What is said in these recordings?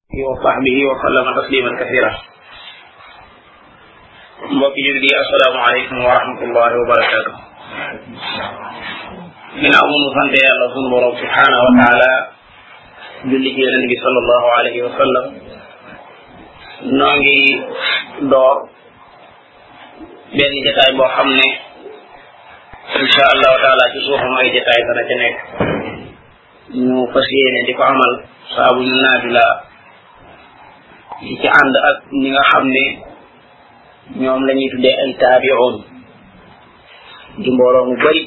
وصحبه وسلم تسليما كثيرا. mbokki jullit yi assalaamu aleykum wa rahmatullahi wa barakaatu. ginnaaw bu mu sante yàlla sunu borom subhaanahu wa taala julli ci yonent bi sallallahu alayhi wa sallam, noo ngi door benn jataay boo xam ne insha allahu taala ci suufam ay jataay dana ca nekk. ñu fas yéene di ko amal saa bu ñu naaju la di ci ànd ak ñi nga xam ne ñoom la ñuy tuddee ay taabi'un di mbooloo mu bari.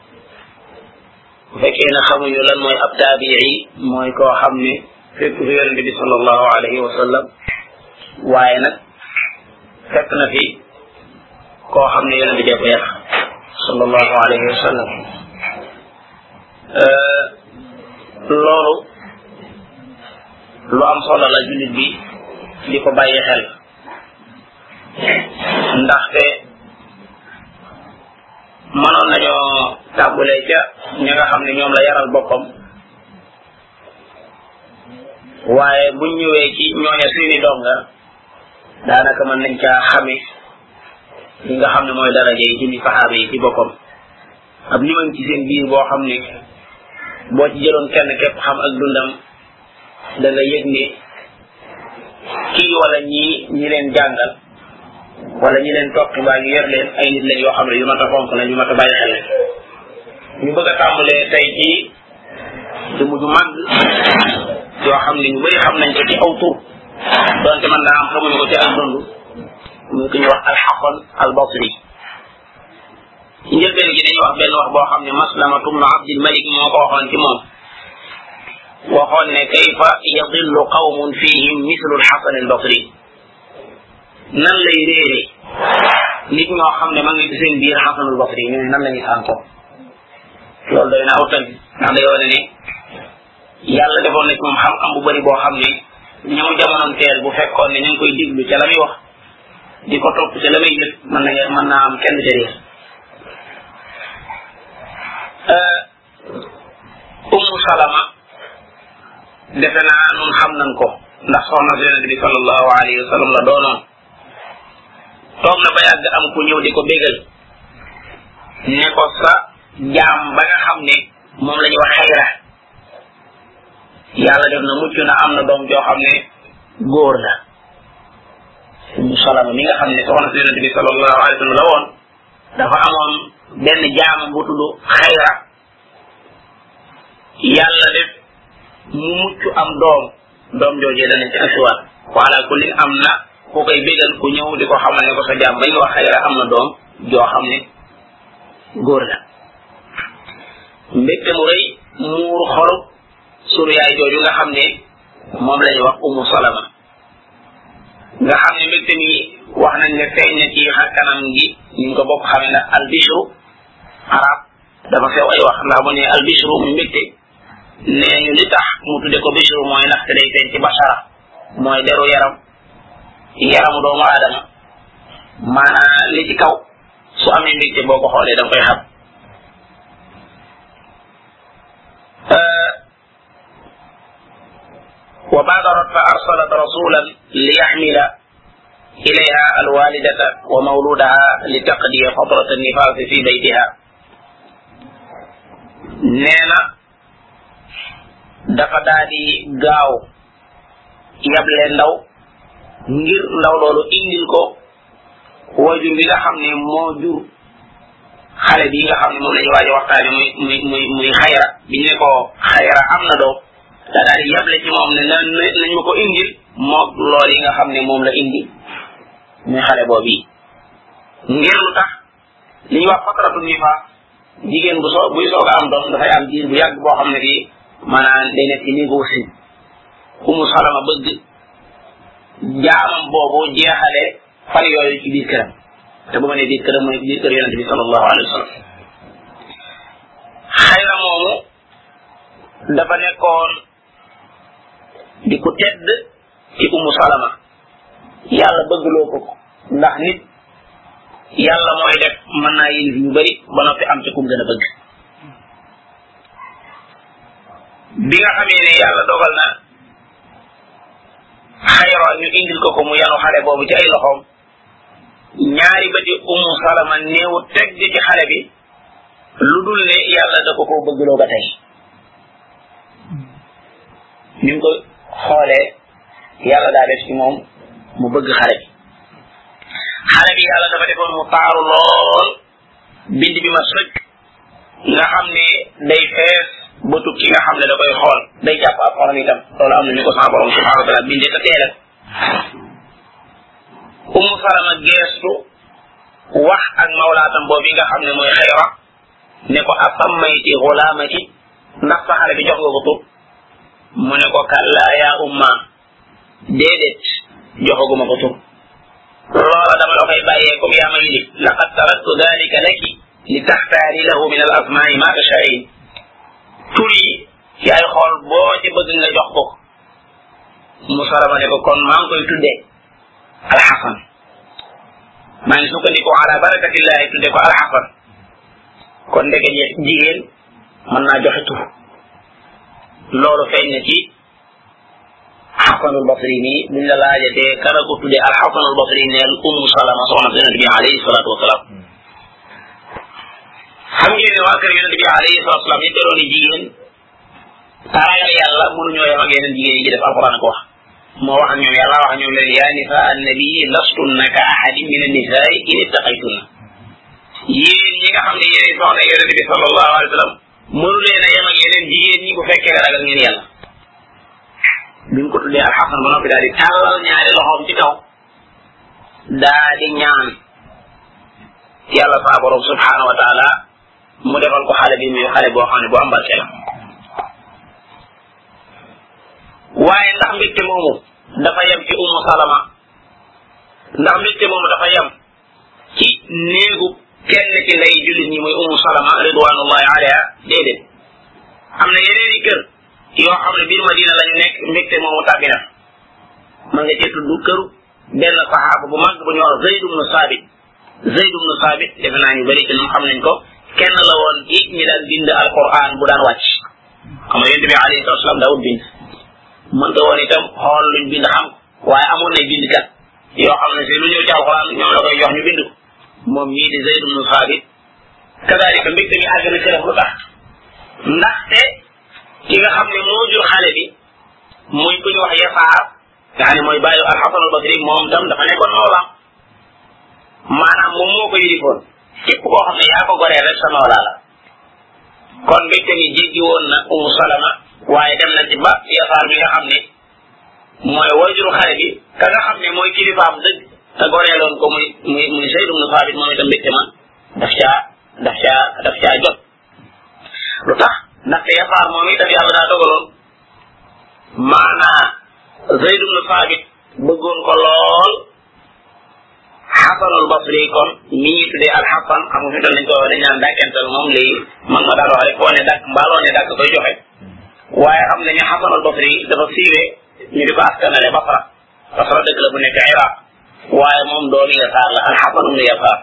bu fekkee ne xamuñu lan mooy ab taabi'i, mooy koo xam ne fekk fi yonente bi sallallahu alayhi wa sallam, waaye nag fekk na fi koo xam ne yonente bi ko yar sallallahu alayhi wa sallam. loolu lu am solo la jullit bi di ko bàyyi xel, ndaxte mënoon nañoo tàmbulee ca ñi nga xam ne ñoom la yaral boppam, waaye buñ ñëwee ci ñooña seeni donga daanaka mën nañ caa xame li nga xam ne mooy daraja yi ci ni saxaaba yi ci boppam. ab liman ci seen biir boo xam ne boo ci jëloon kenn képp xam ak dundam da nga yëg ne kii wala ñi leen jàngal wala ñi leen topp mbaa ñu yor leen ay nit lañ yoo xam ne yu mat a fonk la, ñu mat a bàyyi xel la. ñu bëgg a tàmbalee tey ci jëmm ju màgg yoo xam ne ñu bëri xam nañ ko ci aw tur, donte man daa am xamuñu ko ci ak dund, muy ko ñu wax al-Hasan al-Basri. ci njëlbeen gi dañuy wax benn wax boo xam ne Maslamatu bnu Abdil Malik moo ko waxoon ci moom. waxoon ne kayfa yadillu qawmun fihim mislu al-Hasan al-Basri. nan lay réere nit ñoo xam ne ma ngi ci seen biir Hasan al-Basri, ñu ne nan la ñuy sànko. loolu doy na aw tënk, ndax day wane ne yàlla defoon na ci moom xam-xam bu bari boo xam ne ñoom jamonoom teel bu fekkoon ne ñu ngi koy diglu ca la muy wax di ko topp ca la muy jëf mën naa am kenn ca réer. Ummu Salama defe naa nun xam nañ ko, ndax soxna si Yonent bi sallallahu alayhi wa sallam la doonoon. toog na ba yàgg am ku ñëw di ko bégal ne ko sa jaam ba nga xam ne moom la ñuy wax Xayra, yàlla def na mucc na, am na doom joo xam ne góor la. Ummu Salama mi nga xam ne soxna si Yonent bi sallallahu alayhi wa sallam la woon, dafa amoon benn jaam bu tudd Xayra, yàlla def mu mucc am doom joojee danañ ci asuwaat. wala kulli am na ku koy bégal ku ñëw di ko xamal ne ko sa jaam bañ wax Xayra am na doom joo xam ne góor la. mbégte mu rëy muur xolu sunu yaay jooju nga xam ne moom la ñuy wax Ummu Salama, nga xam ne mbégte mi wax nañ ne feeñ na ci xar kanam gi, ñu ko bokk xamee na albishru arab dafa feew ay wax, ndax bu ne albishru mu mbégte nee ñu li tax mu tudde ko bishru mooy ndaxte day feeñ ci bashara, mooy deru yaramu doomu aadama. maanaam li ci kaw su amee mbégte boo ko xoolee danga koy xam. wa baadarat fa arsalat rasulan li yaxmila ilayha alwalidata wa mawludaha li taqdiya fatrat annifaasi fi baytiha. nee na dafa daal di gaaw yable ndaw ngir ndaw loolu indil ko wajur bi nga xam ne moo jur xale bi nga xam ne moom la ñu waaj a waxtaane muy Xayra. bi ñu ne ko Xayra am na doom, da daal di yable ci moom ne nañ ma ko indil moog loolu yi nga xam ne moom la indi muy xale boobu yi. ngir lu tax li ñuy wax fatratu nifaas, jigéen buy soog a am doom dafay am diir bu yàgg boo xam ne fii maanaam day nekk ci niveau si. Ummu Salama bëgg jaamam boobu jeexale fan yooyu ci biir këram, te bu ma nee biir këram mooy biir kër Yonent bi sallallahu alayhi wa sallam. Xayra moomu dafa nekkoon di ku tedd ci Ummu Salama, yàlla bëggloo ko ndax nit yàlla mooy def mën naa yilif yu bari ba noppi am ci kum gën a bëgg. bi nga xamee ne yàlla dogal na ñu indil ko mu yanu xale boobu ci ay loxoom ñaari bëti salama néewu teg ci xale bi lu dul ne yàlla da ko bëggloo ba tey ni mu ko xoolee yàlla daa def ci moom mu bëgg xale bi yàlla dafa defoon mu taaru lool bind bi ma sëkk nga xam ne day fees bëtub ki nga xam ne da koy xool day jàpp ab xolam itam loolu am na ñu ko sama borom subhanahu wa taala bindee te teelal salama geestu wax ak mawlaatam boobu nga xam ne mooy xayra ne ko asammayti gulaamaki ndax sa xale bi jox nga ko tur mu ne ko kalla ya umma déedéet joxaguma ko tur loola dama la koy bàyyee comme yaa ma yilif laqad taraktu dalika laki li taxtaari lahu min al asmaai ma tashaa'in tur yi yaay xool boo ci bëgg nga jox ko salama ne ko kon maa ngi koy tuddee alxasan maa ngi sukkandiku ala barakatillahi tudde ko alxasan kon ndeke jigéen mën naa joxe tur loolu feeñ na ci xasanul basri nii buñ la laajatee kana ko tudde alxasanul basri neel salama soxna si yonente bi alayhi salatu wasalaam xam ngeen ne waa kër yonente bi alayhi salatu wasalaam yi terooni jigéen ragal yàlla mënuñoo yem ak yeneen jigéen yi ci def alquran ko wax moo wax ak ñoom yàlla wax ak ñoom leen yaa nisa annabi lastunna ka ahadin min annisaai in ittaqaytunna yéen ñi nga xam ne yéen soxna yonente bi sallallahu alayhi wa sallam mënu leen a yem ak yeneen jigéen ñi bu fekkee ne ragal ngeen yàlla bi mu ko tuddee alxasan ba noppi daal di tàllal ñaari loxoom ci kaw daa di ñaan yàlla saa borom subhanahu wa taala mu defal ko xale bi muy xale boo xam ne bu am barke la waaye ndax mbégte moomu dafa yem ci salama ndax mbégte moomu dafa yem ci néegu kenn ci ndey jullit ñi muy salama ridwanullahi alayha déedéet am na yeneen i kër yoo xam ne biir Madina lañu nekk mbégte moomu tàbbi na ma nga ci tudd këru benn saxaaba bu mag bu ñu wax Zayd ibn Sabit defe naa ñu bëri ci ñun xam nañ ko kenn la woon ci ñi daan bind alquran bu daan wàcc xam nga yonent bi alayhi salatu wasalam daawut bind mënta woon itam xool luñ bind xam waaye amoon na bindkat yoo xam ne si lu ñëw ci alquran ñoom la koy jox ñu bind ko moom ñii di Zayd ibn Sabit kadalika mbégte mi àgg na këram lu tax ndaxte ki nga xam ne moo jur xale bi muy ku ñu wax Yasaar nga xam ne mooy bàyyi al-Hasan al-Basri moom tam dafa nekkoon mawlaam maanaam moom moo ko yilifoon képp koo xam ne yaa ko goree rek sa mawlaa la kon mbégte mi jéggi woon na Salama waaye dem na ci ba Yasaar mi nga xam ne mooy wajuru xale bi ka nga xam ne mooy kilifaam dëgg te goreeloon ko muy Zayd ibn Saabit moom itam mbégte ma daf caa jot lu tax ndaxte Yasaar moom itam yàlla daa dogaloon maanaa Zayd ibn Saabit bëggoon ko lool Hasanul Basri kon mi ñuy tuddee Alxasan xam nga fi tal nañ ko dañ naan dàkkental moom léegi man ma daan wax rek foo ne dàkk mbaaloo ne dàkk koy joxe waaye xam nañu Hasanul Basri dafa siiwee ñu di ko askanale Basra dëkk la bu nekk Iraq waaye moom doomi Yasaar la Alxasan ibn Yasaar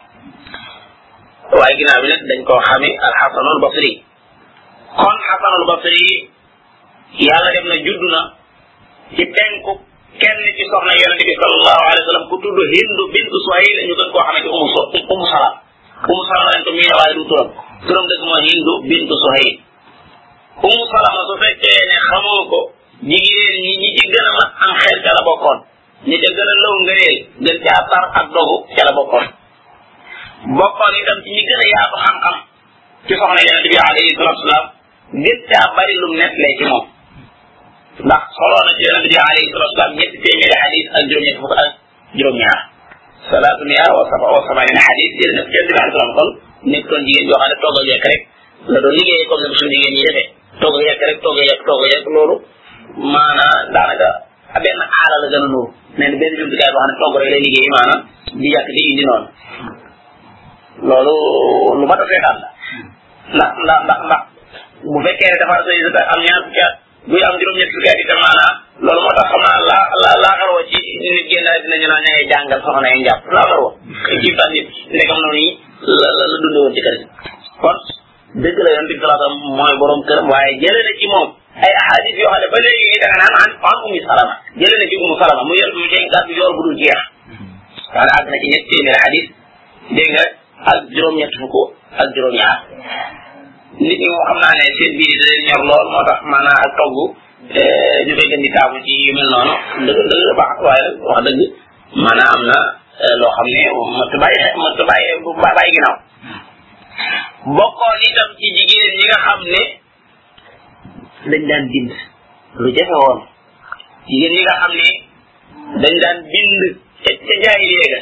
waaye ginnaaw bi nag dañ koo xami Alxasanul Basri kon Hasanul Basri yàlla def na juddu na ci penku kenn ci soxna yonente bi sallallahu alayhi wa sallam ku tudd Hindu bintu Suhayl ñu gën koo xamee ci Umu Salama lañ ko miine waaye du turam dëgg mooy Hindu bintu Suhayl Umu Salama su fekkee ne xamoo ko jigéen ñi ci gën a mat am xel ca la bokkoon ñi ca gën a lëw ngëneel gën caa tar ak dogu ca la bokkoon itam ci ñi gën a yaatu xam-xam ci soxna yonente bi alayhi salatu wasalaam gën caa bari lum nettlee ci moom ndax soloo na ci yonente bi alayhi salatu wasalaam ñetti téeméeri xadis ak juróom-ñetti fukk ak juróom-ñaar salaatu mia wa samanina xadis jël na ci yonente bi alayhi salaam kon nekkoon jigéen joo xam ne togg ak yekk rek la doon liggéeyee comme ne suñu jigéen ñi defee togg ak yekk rek togg ak yekk loolu maanaam daanaka benn aala la gën a nuuru mais benn jumtukaay boo xam ne togg rek lay liggéey maanaam di yàq di indi noonu loolu lu mat a seetaan la ndax bu fekkee ne dafa sëy am ñaar fukki at buy am juróom-ñetti fukki at itam maanaam loolu moo tax xam naa laaxaroo ci nit génn dinañu naan ña jàngal soxna yi njàpp laaxaroo ci fan nit ndegam noonu yi la dunde woon ci kër kon dëgg la yonent bi sallallahu alayhi wasallam mooy borom këram waaye jëlee na ci moom ay ahadis yoo xam ne ba léegi da nga naan an ummi salama jëlee na ci Umu Salama mu yor mu dégg gàddu yor bu dul jeex wala àgg na ci ñetti téeméeri hadis dégg nga ak juróom-ñett fukk ak juróom-ñaar nit ñi moo xam naa ne seen biir yi da leen ñor lool moo tax maanaam ak togg ñu koy gën di taamu ci yu mel noonu dëgg baax waaye wax dëgg maanaam am na loo xam ne mënut a bàyyi ginnaaw bokkoon itam ci jigéen ñi nga xam ne dañ daan bind lu jafe woon jigéen ñi nga xam ne dañ daan bind ca jaay léega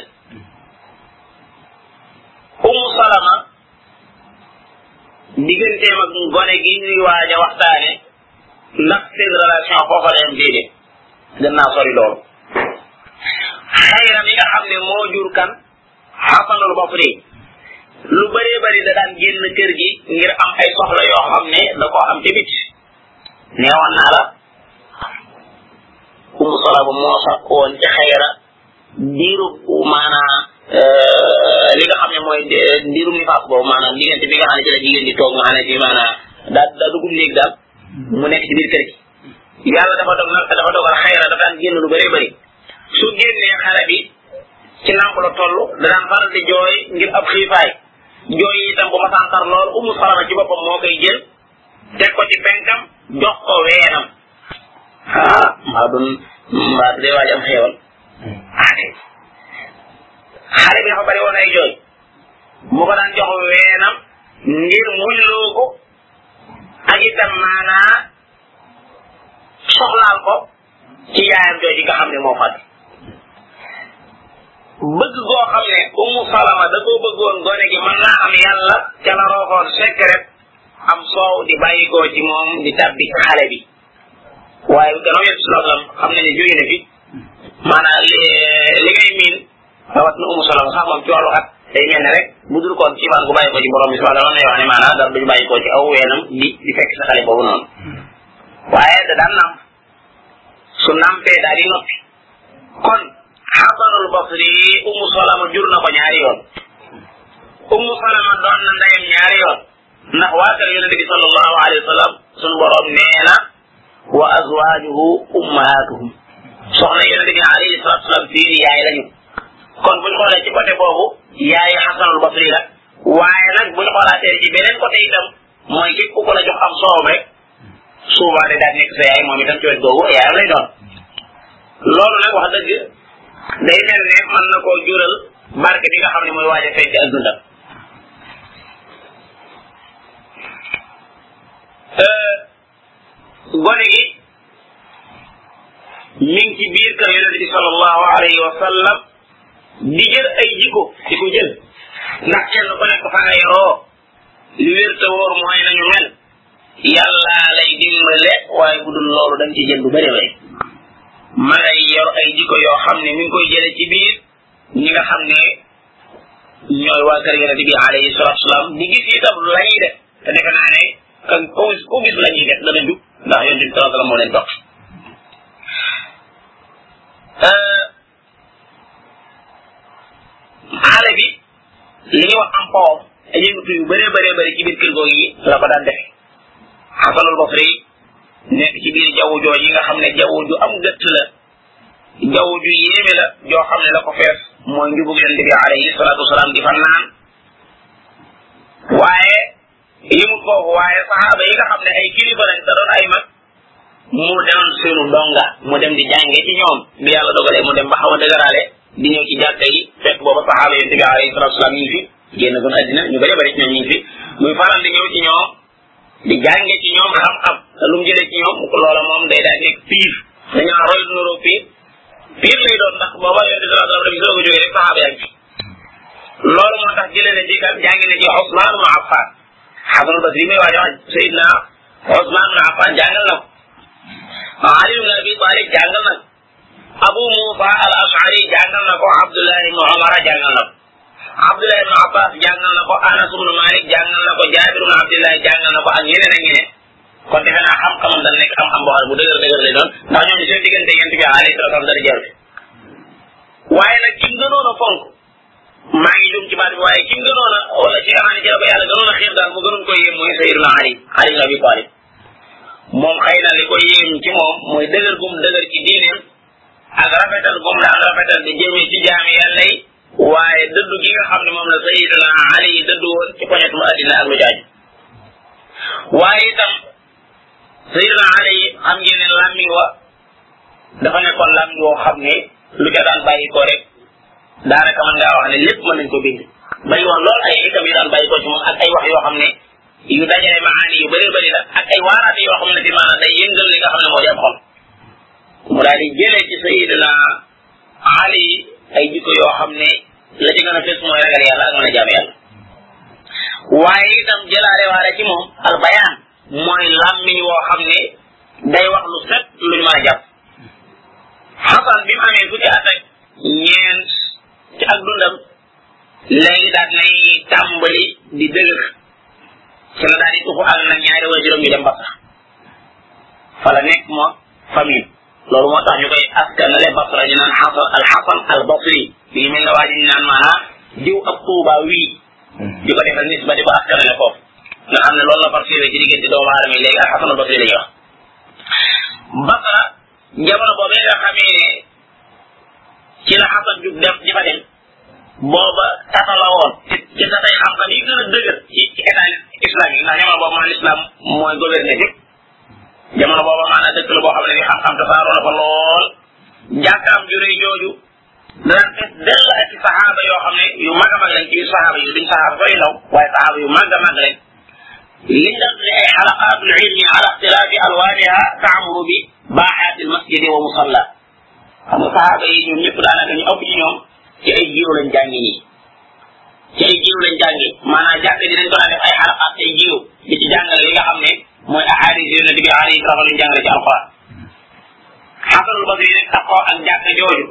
Umu Salama digganteem ak gone gi ñuy waaj a waxtaane ndax seen relation foofa la yam déedéet gën naa sori loolu Xayra mi nga xam ne moo jur kan Xasanul Basri lu bëree bëri da daan génn kër gi ngir am ay soxla yoo xam ne da koo am ci bit neewoon naa la Umu Salama moo sax woon ci Xayra diiru maanaa li nga xam ne mooy ndirum nifaas boobu maanaam diggante bi nga xam ne ci la jigéen di toog nga xam ne ci maanaam daa dugub néeg daal mu nekk ci biir kër gi yàlla dafa dogal Xayra dafa daan génn lu bëree bëri su génnee xale bi ci nàmp la toll da daan faral di jooy ngir ab xiifaay jooy itam bu ma santar lool Umu Salama ci boppam moo koy jël teg ko ci penkam jox ko weenam mbaa dee waaj am xeewal xale bi dafa bari woon ay jooy mu ko daan jox weenam ngir muñloo ko ak itam maanaa soxlaal ko ci yaayam jooy ji nga xam ne moo fàtte bëgg goo xam ne Umu Salama da koo bëggoon gone gi mën naa am yàlla ca la rooxoon secret am soow di bàyyi koo ci moom di tabbi ci xale bi waaye gannaaw yéen si loolu xam nañu jóge na fi maanaam li ngay miin rawat na Umu Salama sax moom ci wàllu at day mel ne rek bu dul koon ci gu bàyyi ko ci borom bi subhanahu wa ta'ala wax ne maanaam dara duñu bàyyi ko ci aw weenam di fekk sa xale boobu noonu waaye da daan namp su nampee daal di noppi kon Xasanul Basri Umu Salama jur na ko ñaari yoon Umu Salama doon na ndeyam ñaari yoon ndax waa kër yonent bi sallallahu alayhi wa sallam sunu borom nee na wa azwaajuhu ummahatuhum soxna yonent bi alayhi salatu wasalam fii di yaay lañu kon buñ xoolee ci côté boobu yaay Xasanul Basri la waaye nag buñ xoolaatee ci beneen côté itam mooy képp ku ko la jox am soow rek souvent de daal nekk sa yaay moom itam ci wet googu yaayam lay doon loolu nag wax dëgg day mel ne mën na koo jural barke bi nga xam ne mooy waaj a feeñ ci ak dundam gone gi mi ngi ci biir kër yonent bi sallallahu alayhi wa sallam di jël ay jikko di ko jël ndax kenn ku nekk fa nga yoroo li wér te wóor mooy nañu mel yàlla lay dimbale waaye bu dul loolu dañ ci jël lu bëri bëri ma ngay yor ay jikko yoo xam ne mi ngi koy jële ci biir ñi nga xam ne ñooy waa kër yonent bi alayhi salatu wasalaam di gis itam la ñuy def te defe naa ne ku gis la ñuy def dana jub ndax yonent bi sallallahu alayhi wasallam moo leen topp xale bi li ñuy wax am poom ay yëngatu yu bëree bëri ci biir kër googu yi la ko daan defe Xasanul Basri nekk ci biir jaww jooju nga xam ne jaww ju am gëtt la jaww ju yéeme la joo xam ne la ko fees mooy njubug yonent bi alayhi salatu wasalaam di fa naan waaye yëmut foofu waaye saxaaba yi nga xam ne ay kilifa lañ te doon ay mag mu demoon seenu donga mu dem di jànge ci ñoom bi yàlla dogalee mu dem ba xaw a dëgëraale di ñëw ci jàkka yi fekk booba saxaaba yonent bi alayhi salatu wasalaam ñu ngi fi génn gun àddina ñu bëri bëri ci ñoom ñu ngi fi muy faral di ñëw ci ñoom di jànge ci ñoom xam-xam te lu mu jëlee ci ñoom loola moom day daal nekk piir dañoo roy nuroo piir lay doon ndax booba yonent bi sallallahu alayhi wasallam soog a jógee rek saxaaba yaa ngi fi loolu moo tax jëlee na ci kat jàngi na ci Usmaan ibn Affan Xasanul Basri may waajo wax Seydina Usmaan ibn Affan jàngal na ko Ali ibn Abi Talib jàngal na ko Abu Musa al-Ash'ari jàngal na ko Abdullah ibn Umar jàngal na ko Abdullah ibn Abbas jàngal na ko Anas ibn Malik jàngal na ko Jaabir ibn Abdullah jàngal na ko ak ñeneen ak ñeneen kon defe naa xam-xamam dañ nekk xam-xam boo xam ne bu dëgër lay doon ndax ñoom seen diggante yent bi alayhi salaatu wa salaam dara jarul waaye nag ki gënoon a fonk maa ngi jum ci baat bi waaye ki gënoon a wala ci amaani ci la ko yàlla gënoon a xiir daal mu gënoon ko yéem mooy Sayyidina Ali Ali ibn Abi Talib moom xëy na li ko yéem ci moom mooy dëgër gum dëgër ci diineem ak rafetal gum daan rafetal di jëmee ci jaami yàlla yi waaye dëddu gi nga xam ne moom la sayidina ali yi dëddu woon ci poñetum addina ak lu jaaju waaye itam sayidina ali yi xam ngeen ne làmmiñ wa dafa nekkoon làmmiñ woo xam ne lu ca daan bàyyi ko rek daanaka mën ngaa wax ne lépp mën nañ ko bind bari woon lool ay xikam yu daan bàyyi ko ci moom ak ay wax yoo xam ne yu dajale maani yu bëree bëri la ak ay waaraate yoo xam ne ci maanaam day yëngal li nga xam ne moo di am xol mu daal di jëlee ci sayidina ali ay jikko yoo xam ne la ci gën a fes mooy ragal yàlla ak mën a jaam yàlla waaye itam jëlaale waale ci moom al bayaan mooy làmmiñ woo xam ne day wax lu set luñ mën a jàpp xasan bi mu amee fukki at ak ñeent ci ak dundam léegi daal nay tàmbali di dëgër ci la daal di tuxu ak nag ñaari waajuram ñu dem Basra fa la nekk moo famille loolu moo tax ñu koy askanale Basra ñu naan xasan al basri bii mel na waa ji ñu naan maanaam diw ak Tuuba wii di ko defal nisba di ko askanale foofu nga xam ne loolu la farsiwee ci diggante doomu aadama yi léegi ak xasan al basri la ñuy wax Basra jamono boobee nga xamee ne ci la xasan jug def di fa dem booba tata la woon ci tatay xam-xam yi gën a dëgër ci état islamique ndax jamono boobu maanaam islam mooy gouverner fépp jamono booba maanaam dëkk la boo xam ne ni xam-xam tasaaroo na fa lool jàkkaam ju rëy jooju daan fes dell ak ci saxaaba yoo xam ne yu mag a mag lañ ci saxaaba yu duñ saxaaba sooy ndaw waaye saxaaba yu mag a mag lañ liñ def ne ay xalaqaatul ilmi ala ixtilaafi alwaaniha taamuru bi baaxaati almasjidi wa musalla xam nga saxaaba yi ñoom ñëpp daanaka ñu ëpp ci ñoom ci ay jiw lañ jàngi ñii ci ay jiw lañ jàngi maanaam jàkk ji dañ ko daan def ay xalaqaat ay jiw di ci jàngale li nga xam ne mooy ahadis yonente bi alayhi salaam luñ jàngale ci alquran xasanul basri nag taxoo ak jàkk jooju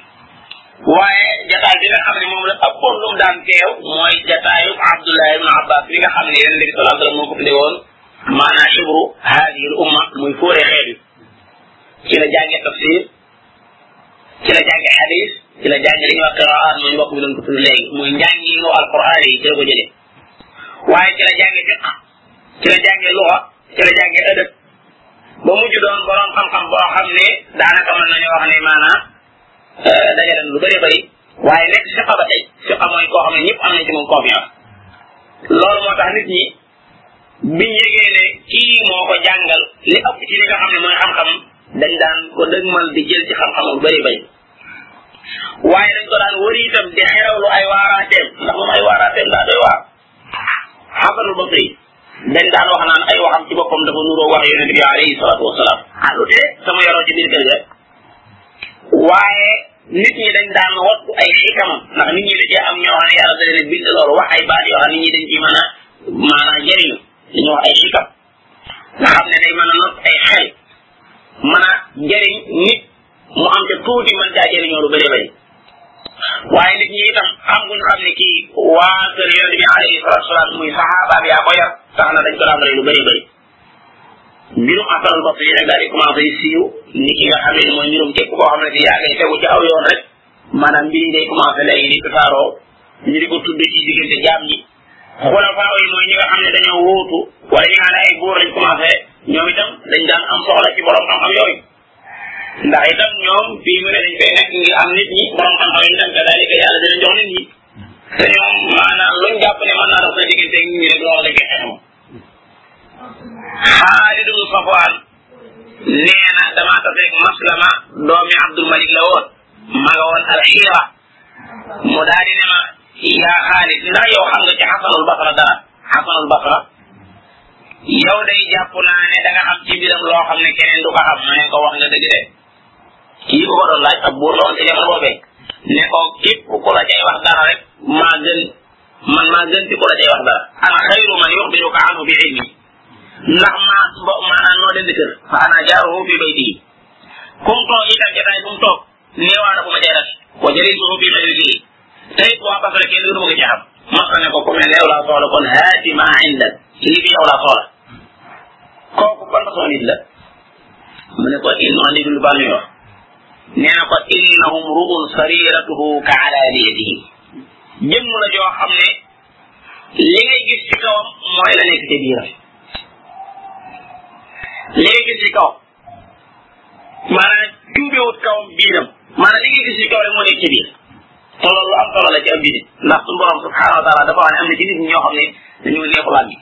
waaye jataay bi nga xam ne moom la ëppoon lu mu daan teew mooy jataayu Abdullah ibn Abbas bi nga xam ne yonente bi sallallahu alayhi wasallam moo ko tudde woon maanaam xibru haadihi al umma muy fóore xeet yi ci la jànge tafsir ci la jànge xadis ci la jànge li ñuy wax qiraat mooy mbokk bi doon ko tudd léegi muy njàngiinu alquran yi ci la ko jëlee waaye ci la jànge fiq ci la jànge luxa ci la jànge ëdëb ba mujj doon borom xam-xam boo xam ne daanaka mën nañu wax ne maanaam dajale lu bëri bëri waaye nekk fiqa ba tey fiqa mooy koo xam ne ñëpp am nañ ci moom confiance loolu moo tax nit ñi biñ yëgee ne kii moo ko jàngal li ëpp ci li nga xam ne mooy xam-xam dañ daan ko dëgmal di jël ci xam-xam lu bëri bëri waaye dañ ko daan wëri itam di xerawlu ay waaraateem ndax moom ay waaraateem daa doy waar xasanul basri dañ daan wax naan ay waxam ci boppam dafa nuroo wax yonent bi alayhi salaatu wasalaam lu tee sama yoroo ci biir kër ga waaye nit ñi dañ daan wattu ay xikamam ndax nit ñi da cee am ñoo xam ne yàlla da leen bind loolu wax ay baat yoo xam nit ñi dañ ci mën a maanaam jëriñu dañu wax ay xikam nga xam ne day mën a not ay xel mën a jëriñ nit mu am te tuuti mën caa jëriñoo lu bëri bëri waaye nit ñi itam xam guñ xam ne kii waa kër yonent bi alayhi salatu wasalaam muy saxaaba bi yaa ko yar tax na dañ ko daan rey lu bëri bëri mbirum Hasan al-Basri nag daal di commencé siiw ni ki nga xam ne mooy mbirum képp koo xam ne si yaa ngi tegu ci aw yoon rek maanaam mbir yi day commencé léegi di tasaaroo ñu di ko tudd ci diggante jaam ñi xulafaa yi mooy ñi nga xam ne dañoo wóotu wala ñi nga xam ne ay buur lañ commencé ñoom itam dañ daan am soxla ci borom xam-xam yooyu ndax itam ñoom fii mu ne dañ fay nekk ngir am nit ñi borom xam-xam yi dem kadalika yàlla dina jox nit ñi te ñoom maanaam luñ jàpp ne mën naa dox sa diggante nit ñi rek loolu lañ koy xeexam Xaalid ibn Safwaan nee na damaa taseeg Maslama doomi Abdul Malik la woon ma nga woon alxiira mu daal di ne ma yaa Xaalid ndax yow xam nga ci Xasanul Basra dara Xasanul Basra yow day jàpp naa ne da nga xam ci mbiram loo xam ne keneen du ko xam ma ne ko wax nga dëgg de kii ko doon laaj ab buur la woon ci jamono boobee ne ko képp ku la cay wax dara rek maa gën ci ku la cay wax dara ana xayru man yuxbiruka anhu bi ilmi ndax maanaam noo den di kër fa ana jaaruhu fi bayti kum toog itam jotaay bu mu toog neewaana bu ma cay ras wa jalisuhu fi majlisi tey waa Basra kenn gënu ma ko ci xam masa ne ko ku mel ne yow laa soxla kon haati ma indak lii fi yow laa soxla kooku ban façon nit la mu ne ko innoo ndig lu baax ñuy wax nee na ko innahum ru'un sariratuhu ka alaniyatihi jëmm la joo xam ne li ngay gis ci kawam mooy la nekk ci biiram li ngay gis ci kawam maanaam juubewut kawam biiram maanaam li ngay gis ci kaw rek moo nekk ci biir te loolu am solo la ci ab jullit ndax suñu borom subhanahu wa taala dafa wax ne am na ci nit ñi ñoo xam ne dañoo neexu làmmi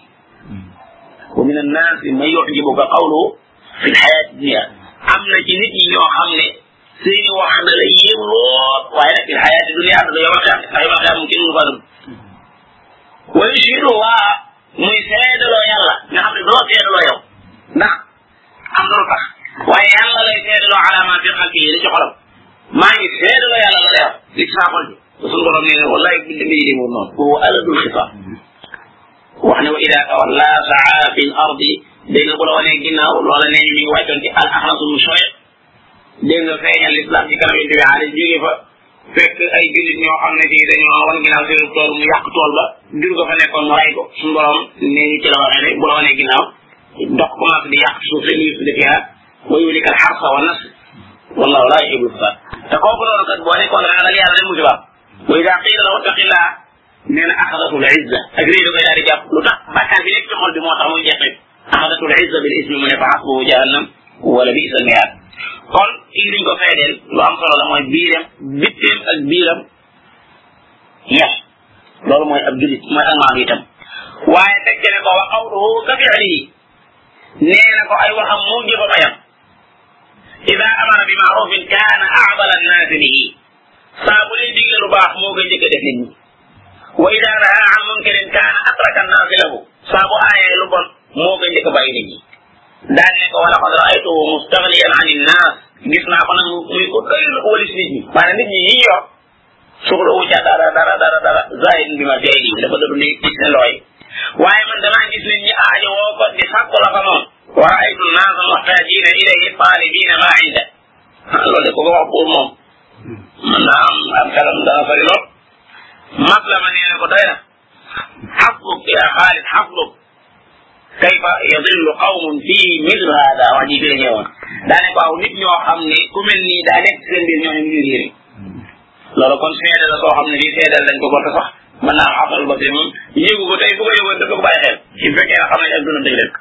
wa min annaasi man yu'jibuka qawluhu fi lxayaati dunia am na ci nit ñi ñoo xam ne seeni wax da lay yéem lool waaye nag fi lxayaati dunia da yow xeex ndax yow xeex mu kenn mënu faa dugg wa yushhidu Allah muy seedaloo yàlla nga xam ne doo seedaloo yow ndax am na lu tax waaye yàlla lay seedaloo ala ma fi qalbihi li ci xolam maa ngi seedaloo yàlla la lay wax li ci saa xol bi suñu borom nee ne wallahi bi mbir yi demoon noonu wa aladul xisaab wax ne wa ida tawalla saa fi l ardi dégg nga bu la wanee ginnaaw loola nee ñu mi ngi wàccoon ci al axlasu mu soye dégg nga feeñal l'islam ci kanam yonent bi xaalis jóge fa fekk ay jullit ñoo xam ne fii dañoo wan ginnaaw seen tool mu yàq tool ba jur ko fa nekkoon mu ray ko suñu borom nee ñu ci la waxee ne bu la wanee ginnaaw dox commencé di yàq suuf seen yëf di fiha wa yulika al xarsa wa nas wallahu la yuhibbu al-fasad te kooku loolu kat boo nekkoon ragal yàlla dem musiba wa ida qila lahu ittaqillah nee na axadatu l izza ak réy da koy daal di jàpp lu tax bàkkaar bi nekk ci xol bi moo tax muy jeexee axadatu l izza bil ismi mu ne fa xasbuhu jahannam wala bi'sa al mihaad kon kii duñ ko feedeel lu am solo la mooy biiram bitteem ak biiram yes loolu mooy ab julit mooy ak maam itam waaye teg ne ko wa qawluhu ka fi'lihi nee na ko ay waxam mu jëfa bayam ida amara bi maarufin kaana a'dala annaasi bihi saa bu leen digle lu baax moo koy njëkk a def nit ñi wa ida naha an munkarin kaana atraka annaasi lahu saa bu aayee lu bon moo koy njëkk a bàyyi nit ñi daan ne ko wa laqad ra'aytuhu mustaghniyan an innaas gis naa ko nag muy ko doylu ko walis nit ñi maanaam nit ñi yi yor soxla wu ca dara zahid bi ma fee lii dafa doon gis ne looy waaye man damaa gis nit ñi aajo woo ko di sàkku la fa moom wa ra'aytu an-naasa muhtaajina ilayhi taalibiina maa inda loolu de ko wax pour moom mën naa am xelam dana sori lool maslama nee na ko doy na xasluk ya Xaalid xasluk kayfa yadillu qawmun fii mislu hada wax ji fi la ñëwoon daane ko aw nit ñoo xam ne ku mel nii daa nekk seen biir ñooñu ñu réere loolu kon seede la soo xam ne fii seedal dañ ko ko te sax mën naa xamal ba moom yëgu ko tey bu ko yëgoon dafa ko bàyyi xel su fekkee ne xam nañ ak duna dëgg leen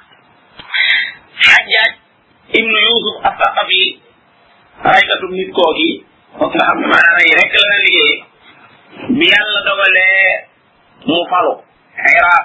Xajjaaj ibnu Yusuf as-Saqafi raykatu nit kooki foog nga xam ne maanaam rey rek la na liggéey bi yàlla dogalee mu falu Iraq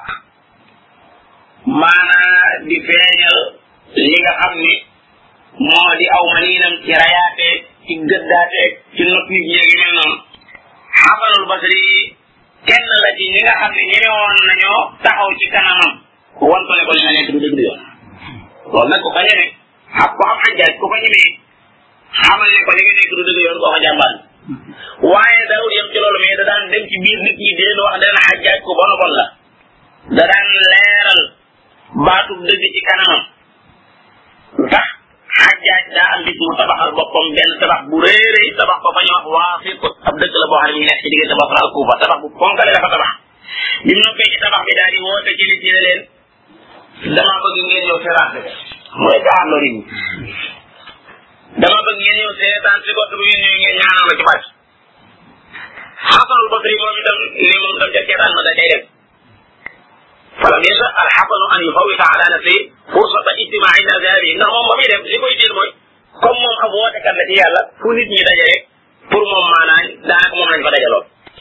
maanaa di feeñal li nga xam ni moo di aw maniinam ci rayaateeg ci gëddaateeg ci not nit ñeegi mel noonu Xasanul Basri kenn la ci ñi nga xam ne ñemewoon nañoo taxaw ci kanamam wan ko ne ko li nga nekk du dëgg du yoon loolu nag ku ko ñeme ak ko xam Xajjaaj ku ko ñemee xamal ne ko li nga nekk du dëgg yoon koo ko jàmbaar waaye daawul yem ci loolu mais da daan dem ci biir nit ñi di leen wax ne leen Xajjaaj ku bon a bon la da daan leeral baatub dëgg ci kanamam lu tax Xajjaaj daa am bis mu tabaxal boppam benn tabax bu réeré tabax ko fa ñu wax Waasit ab dëkk la boo xam ne ñu nekk ci diggante Basra ak Kuufa tabax bu ponkale la fa tabax bi mu noppee ci tabax bi daal di woote ci nit ñi ne leen dama bëgg ngeen ñëw terrasse bi mooy gaar loolu yi dama bëgg ngeen ñëw seetaan si gott bu ngeen ñëw ngeen ñaanal ma ci barke Xasanul Basri moom itam ne moom tam ca seetaan ma da cay dem falam yasa alxasanu an yufawita ala nafsi fursata ijtimaai naasi hadihi ndax moom ba muy dem li koy jël mooy comme moom ab wootekat la ci yàlla fu nit ñi daje rek pour moom maanaam daanaka moom lañ fa dajaloon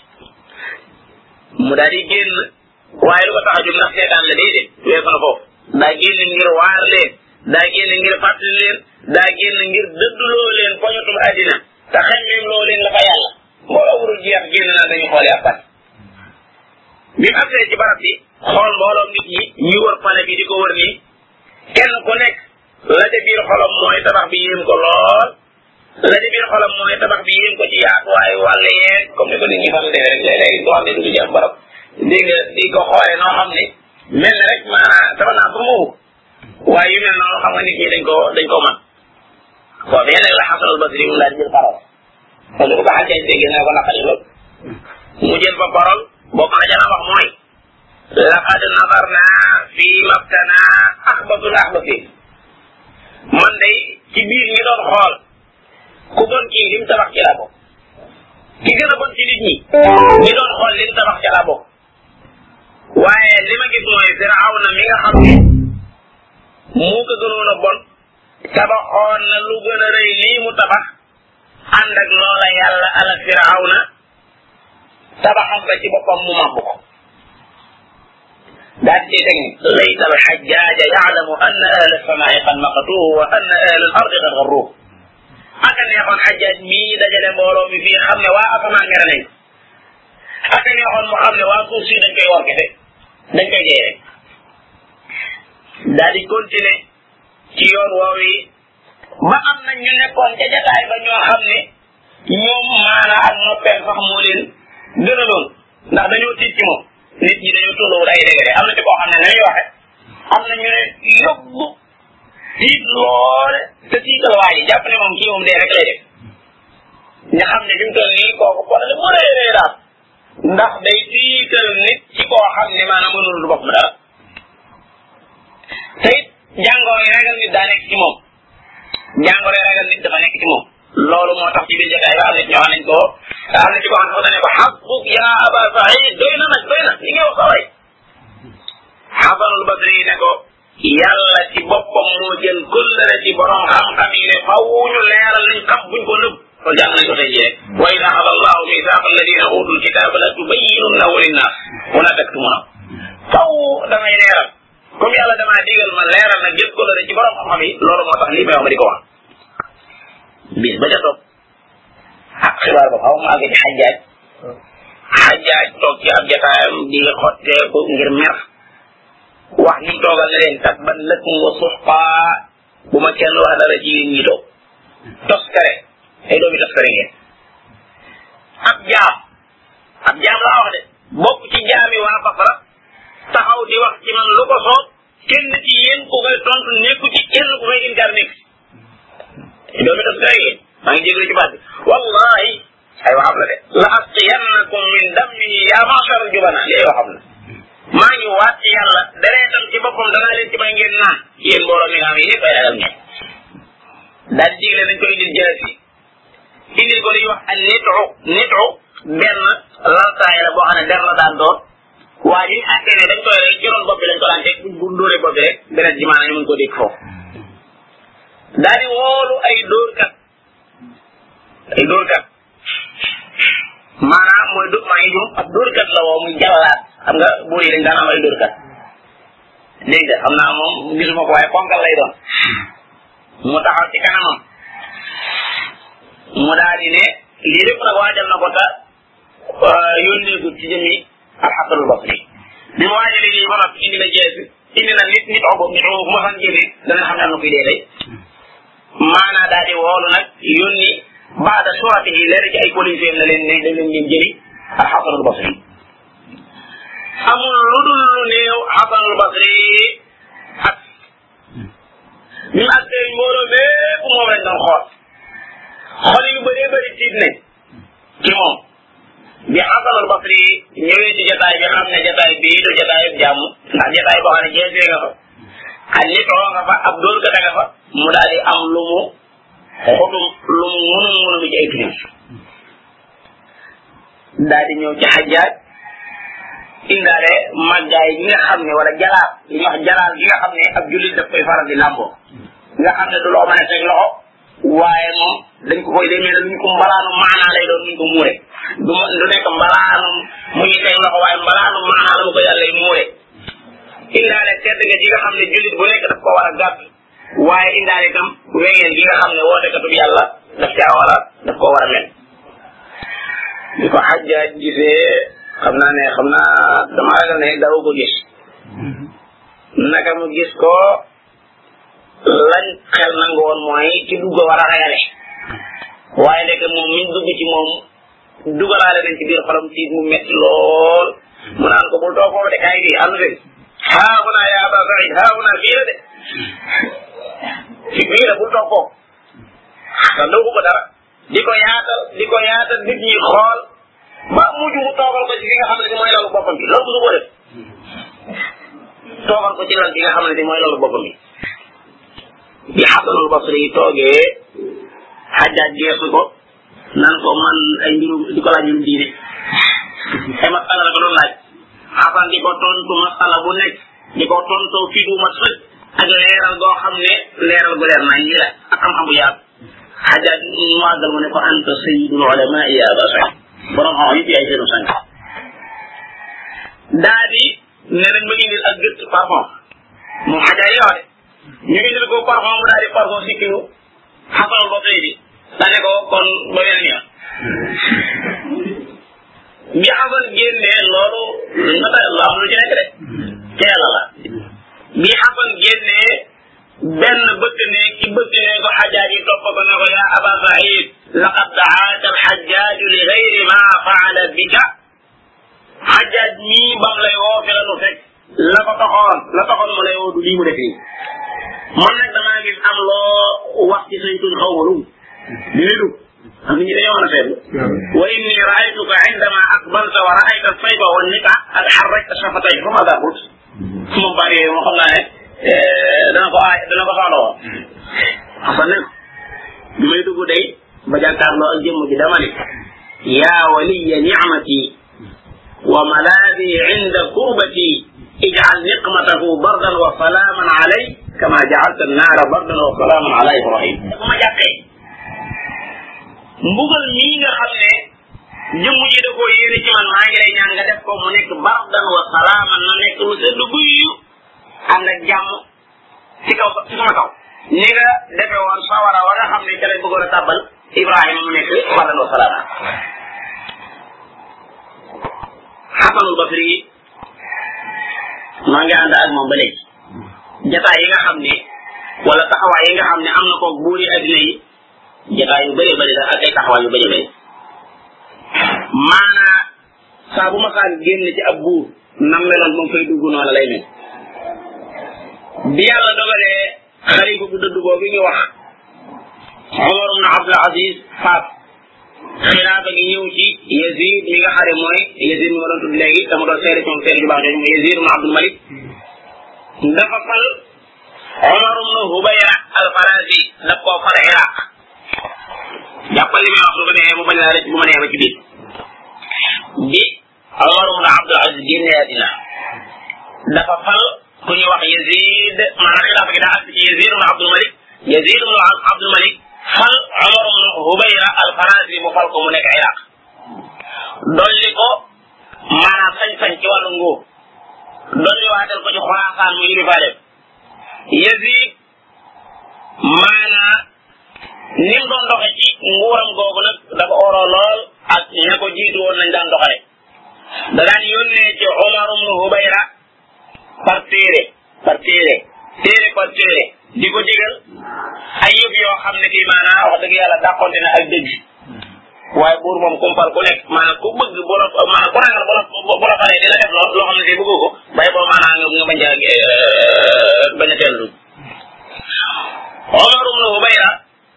mu daal di génn waaye lu ko tax a jóg ndax seetaan la déedéet weesu na foofu daa génn ngir waar leen daa génn ngir fàttali leen daa génn ngir dëdduloo leen poñatum àddina te xañmeem loo leen la fa yàlla mbooloo wurul jeex génn naa dañu xoole ab pat bi mu agsee ci barab bi xool mbooloom nit ñi ñi wër pale bi di ko wër nii kenn ku nekk la ca biir xolam mooy tabax bi yéem ko lool la ca biir xolam mooy tabax bi yéem ko ci yaatuwaayu wàll yeeg comme ni ko nit ñi fan defee rek léeg-léeg doo xam ne du ci am barab dégg nga di ko xoolee noo xam ne mel na rek maanaam sama naa pour moomu waaye yu mel noonu xam nga nit ñi dañ ko man boobu yéen nag la Xasanul Basri mu daal di jël parole parce que bu ko Xajjaaj déggee nga ko naqari lool mu jël fa parole boo ko la jana wax mooy laqad nadarna fi mabtana axbatul axbasi man day ci biir ñi doon xool ku bon kii lim tabax ci laa bokk ki gën a bon ci nit ñi ñi doon xool lim tabax ci laa bokk waaye li ma gis mooy Firawna mi nga xam ne moo ko gënoon a bon tabaxoon na lu gën a rëy lii mu tabax ànd ak loola yàlla ala firawna tabaxam ba ci boppam mu màbb ko daal di teg ni layta alxajjaaja yaalamu anna ahla alsamaa'i qad maqatuhu wa anna ahla al ardi qad garruhu aka neexoon xajjaaj mii dajale mbooloo mi fii xam ne waa asamaan mere nañ aka neexoon mu xam ne waa suuf si dañ koy war kese dañ koy jey rek daal di continuer ci yoon woow yi ba am na ñu nekkoon ca jataay ba ñoo xam ne ñoom maana ak noppeel sax moo leen gënaloon ndax dañoo tiit ci moom nit ñi dañoo tolluwul ay dégre am na ci koo xam ne nañuy waxe am na ñu ne yóbbu tiit loole te tiital waa ji jàpp ne moom kii moom dee rek lay def nga xam ne fi mu toll nii kooku problème mu rëy daal ndax day tiital nit ci koo xam ne maanaam mënul du bopp dara te it jàngoro yi ragal nit daa nekk ci moom jàngoro yi ragal nit dafa nekk ci moom loolu moo tax ci biir jotaay ba am na ci ñoo xam nañ ko am na ci koo xam ne dafa ne ko xasbuk ya aba saïd doy na nag doy na li ngay wax saway xasanul basri ne ko yàlla ci boppam moo jël kullare ci borom xam-xam yi ne faw ñu leeral liñ xam buñ ko nëbb loolu jàng nañ ko tey jii rek wa ida axada allahu mithaqa alladina utul kitaba la tubayyinunnahu linnas wala taktumunahu faw damay leeral comme yàlla damaa digal ma leeral nag jël kullare ci borom xam-xam yi loolu moo tax lii may wax ma di ko wax bis ba ca topp xibaar ba xaw ma àgg ci xajjaaj toog ci ab jataayam di xotteeku ngir mer wax ñi toogal ne leen tabban lakum wa suxqaa bu ma kenn wax dara ci yéen ñi toog toskare ay doomi toskare ngeen ab jaam laa wax de bokk ci jaami waa Basra taxaw di wax ci man lu ko soob kenn ci yéen ku koy tontu nekku ci kenn ku koy inkaar nekk ay doomi toskare ngeen maa ngi jégalu ci baat bi wallahi ay waxam la de la asqiyannakum min dammihi ya ma'shar al-jubana li ay waxam la maa ngi waat ci yàlla dereetam ci boppam danaa leen ci may ngeen naan yéen mbooloo mi nga xam yëpp ay ragal ngeen daal di digle nañ ko indil jaasi indil ko li ñuy wax ak nitu benn laltaay la boo xam ne der la daan doon waa ji àtte ne dañ koy rek ci ron bopp bi lañ ko daan teg bu dóoree bopp bi rek beneen ji maanaam ñu mën ko dégg foofu daal di woolu ay dóorkat maanaam mooy maa ngi jum ab dóorkat la woo muy jàllaat xam nga buur yi dañ daan am ay dóorkat dégg nga xam naa moom gisuma ko waaye ponkal lay doon mu taxaw ci kanamam mu daal di ne lii lépp nag waajal na ko ta yónneegul ci jëmi alxasanul basri bi mu waajalee lii ba noppi indi na jeesi indi na nit ogo bu ma san génne dana xam ne am na kuy dee day maanaa daal di woolu nag yónni baada surati yi leer ci ay policier na leen ne dañ leen ngeen jëli alxasanul basri amul lu dul lu néew xasanul basri ak ñu ak tey mbooloo bépp moom lañ doon xool yu bëree bëri tiit nañ ci moom bi xasanul basri ñëwee ci jotaay bi xam ne jotaay bii du jotaay jàmm ndax jotaay boo xam ne jeesee nga fa ak nitoo nga fa ab dóor gata nga fa mu daal di am lu mu xotum lu mu munum ci ay crise daal di ñëw ci xajjaaj indaale màggaay gi nga xam ne wala jalaal li ñuy wax jalaal gi nga xam ne ab jullit daf koy faral di làmboo nga xam ne du loo mën a teg loxo waaye moom dañ ko koy demee luñ ko mbalaanu maanaa lay doon luñ ko muure du nekk mbalaanu mu ñu teg loxo waaye mbalaanu maanaa la mu ko yàlla muure indaale tedd nga ji nga xam ne jullit bu nekk daf ko war a gàtt waaye indaale itam wengeen gi nga xam ne wootekatub yàlla daf ko war a mel di ko xajjaaj gisee xam naa dama ragal ne daw ko gis naka mu gis ko lañ xel nangu woon mooy ci dugg war a ragale waaye ndek moom miñ dugg ci moom dugalaale nañ ci biir xolam tiit mu metti lool mu naan ko bul toog foofu de kaay fii ànd fi haahuna ya aba saïd haahuna fii la de fii la bul toog foofu sax doo ko dara di ko yaatal nit ñi xool ba mujj mu toogal ko ci fi nga xam ne mooy lalu boppam bi loolu musu ko def toogal ko ci lal bi nga xam ne mooy lalu boppam bi bi xasanul basri yi toogee xajjaaj geesu ko nan ko man ay mbirum di ko laaj mbirum diine ay masala la ko doon laaj xasan di ko tontu masala bu nekk di ko tontoo fii bu mat sëkk ak leeral goo xam ne leeral gu leer nañ ñi la ak xam-xam bu yaatu Xajaaj mu àggal mu ne ko anta sayyidul ulama ya Aba Saïd borom xam yëpp yaay seenu sang daa di ne nañ ma indil ak gëtt parfum moom Xajaaj yi wax de ñu indil ko parfum mu daal di parfum sikkilu xasanul ba tey bi dane ko kon ba weneen yoon bi xasan génnee loolu nata la am lu ci nekk de teela la bi xasan génnee benn bëgg ne ki bëgg ne ko Xajaaj yi topp ko ne ko yaa Aba Saïd laqad daaka alxajjaaj li gayri ma faala bika Xajaaj mii bam lay woo fi la nu fekk la taxoon mu lay woo du lii mu def nii man nag damaa gis am loo wax ci say tuñ xaw ma lu dina dugg am nit ñi dañoo mën a seetlu wa inni raaytuka indama aqbalta wa raayta sayba wa nika ak xarrajta shafatay fa ma daa qult moom bari moo xam naa ne dana ko soxla woon xasan ne bi may dugg day ba jàkkaarloo ak jëmm ji dama ne yaa waliya nicmati wa malaadi inda kurbati ijcal niqmatahu bardan wa salaaman alay kama jacalta annaara bardan wa salaaman ala ibrahim bu ma jàppee mbugal mii nga xam ne jëmm ji da koo yéene ci man maa ngi lay ñaan nga def ko mu nekk bardan wa salaaman na nekk lu sedd guyyu ànd ak jàmm ci kaw ci sama kaw ni nga defe woon sawara wa nga xam ne ca lay bëggoon a tàbbal Ibrahima mu nekk bardan wa salaaman Xasanul Basri maa ngi ànd ak moom ba léegi jataay yi nga xam ne wala taxawaay yi nga xam ne am na ko buuri addina yi jataay yu bëree bëri la ak ay taxawaay yu bëri bëri maanaa saa bu ma saan génn ci ab buur nam meloon moom fay dugg noonu lay mel bi yàlla dogalee xalifa bu dëdd boobu ñu wax Omar ibn Abdul Aziz faat xilaafa gi ñëw ci Yazid mi nga xare mooy Yazid mi ma doon tudd léegi dama doon seede ci moom seede ju baax jooju mooy Yazid ibn Abdul Malik dafa fal Omar ibn Hubayra al-Farazi daf koo fal Iraq jàppal li may wax su ko neexee mu bañ laa rëcc bu ma neexee ba ci biir bi Omar ibn Abdul Aziz génne àddina dafa fal ku ñuy wax Yazid maanaam xilaafa gi daa àgg ci Yazid ibn Abdul Malik Yazid ibn Abdul Malik fal Omar ibn Hubayra al-Farazi mu fal ko mu nekk Iraq dolli ko maanaam sañ-sañ ci wàllu nguur dolli waatal ko ci Xuraasaan mu yilifa dem Yazid maanaam ni mu doon doxe ci nguuram googu nag dafa oroo lool ak ña ko jiitu woon nañ daan doxale da daan yónnee ci Omar ibn Hubayra par téere di ko digal ay yëf yoo xam ne kii maanaam wax dëgg yàlla dàqonte na ak dëgg waaye buur moom kumpal ku nekk maanaam ku bëgg bu la maanaam ku ragal bu la faree dina def loo xam ne tey bëggoo ko bàyyi boo maanaam nga bañ a teel Omar ibn Hubayra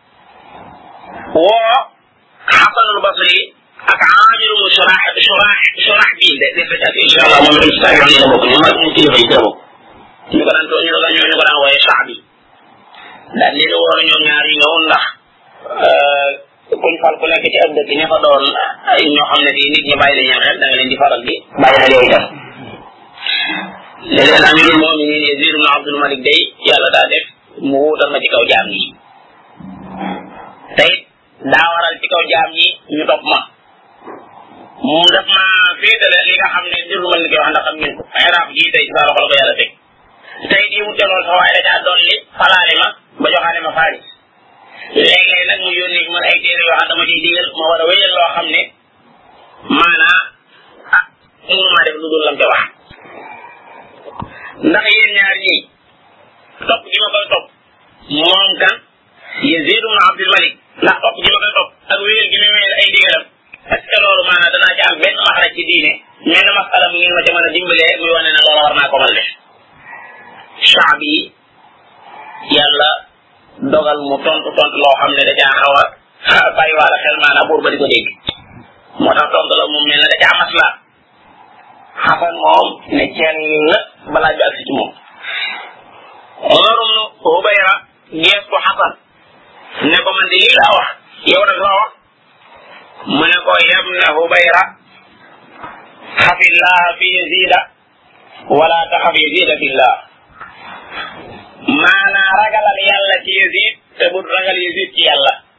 woo Xasanul Basri ak Aamir ibn Shurahbil de def ak incha allah moom itam saa yoon yi la bokk ñu mag ñu kilifa yi la bokk ñu ko daan wooyee Shaabi daal li ñu waroon ñoom ñaar yi ñëw ndax kuñ fal ku nekk ci ab dëkk ña fa doon ñoo xam ne fii nit ñi bàyyi la xel da nga leen di faral di bàyyi xel yooyu tam léeg-léeg amirul mu'minin Yazid ibn Abdul Malik day yàlla daa def mu wuutal ma ci kaw jaam ñi tey daa waral ci kaw jaam ñi ñu topp ma mu def ma féetale li nga xam ne jërlu ma ni koy wax ndax xam ngeen ko ay raaf gii tey ci sa loxo la ko yàlla teg tey di wute lool sax waaye da caa dolli falaale ma ba joxaale ma faari léeg-léeg nag mu yónni man ay téere yoo xam dama ciy digal ma war a wéyal loo xam ne maanaa mënu maa def lu dul lam te wax ndax yéen ñaar ñii topp gi ma koy topp moom kan Yazid ibn Abdul Malik ndax topp gi ma koy topp ak wéyal gi ma wéyal ay digalam est-ce que loolu maanaa danaa ci am benn maxraj ci diine menn masala mu ngeen ma ca mën a dimbalee muy wane ne loolu war naa ko mën def Shaabi yàlla dogal mu tontu loo xam ne da caa xaw a bàyyiwaale xel maanaam buur ba di ko dégg moo tax tontu la moom mel na da caa masla Xasan moom ne ceen la balaa bi agsi ci moom Omar ibn Hubayra gees ko Xasan ne ko man de lii laa wax yow nag loo wax mu ne ko yabna Hubayra xafillah fi yazida wala taxaf yazida fillah maanaa ragalal yàlla ci Yazid te bu ragal Yazid ci yàlla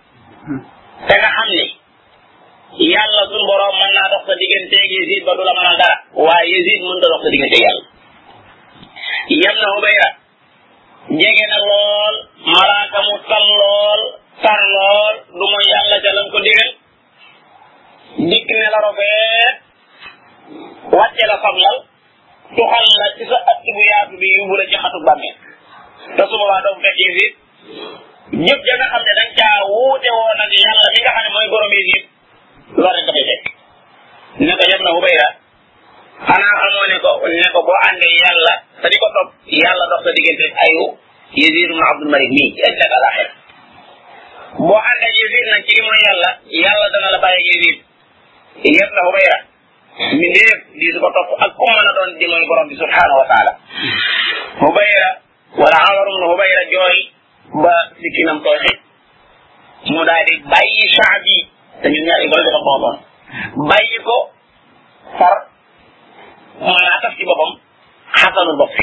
te nga xam ni yàlla suñu borom mën naa dox sa digganteeg Yazid ba du la mënal dara waaye Yazid mën ta dox sa digganteeg yàlla yam na Hubayra jege na lool malaaka mu tal lool tar lool du mooy yàlla ca lam ko digal dikk ne la rofeet wàcce la fablal tuxal la ci sa ëtt bu yaatu bi yóbbu la ci xatu bàmmeel te su boobaa doo fekk Yazid ñëpp ja nga xam ne dañ caa wuute woon ak yàlla mi nga xam ne mooy borom Yazid loolu rek dafay fekk ne ko yam na Hubayra xanaa xamoo ne ko boo àndee yàlla te di ko topp yàlla dox sa diggante ayu Yazid ibn Abdul Malik mii ci ëllëg alaxira boo àndee Yazid nag ci li mooy yàlla dana la bàyyi Yazid yam na Hubayra mi ndéef di su ko topp ak ku mën a doon di mooy borom bi subhanahu wa taala Hubayra wala Amar ibn Hubayra jooy ba sikkinam tooy xit mu daal di bàyyi Shaabi te ñun ñaar yi ko dafa booboon bàyyi ko far maanaa taf ci boppam Xasanul Basri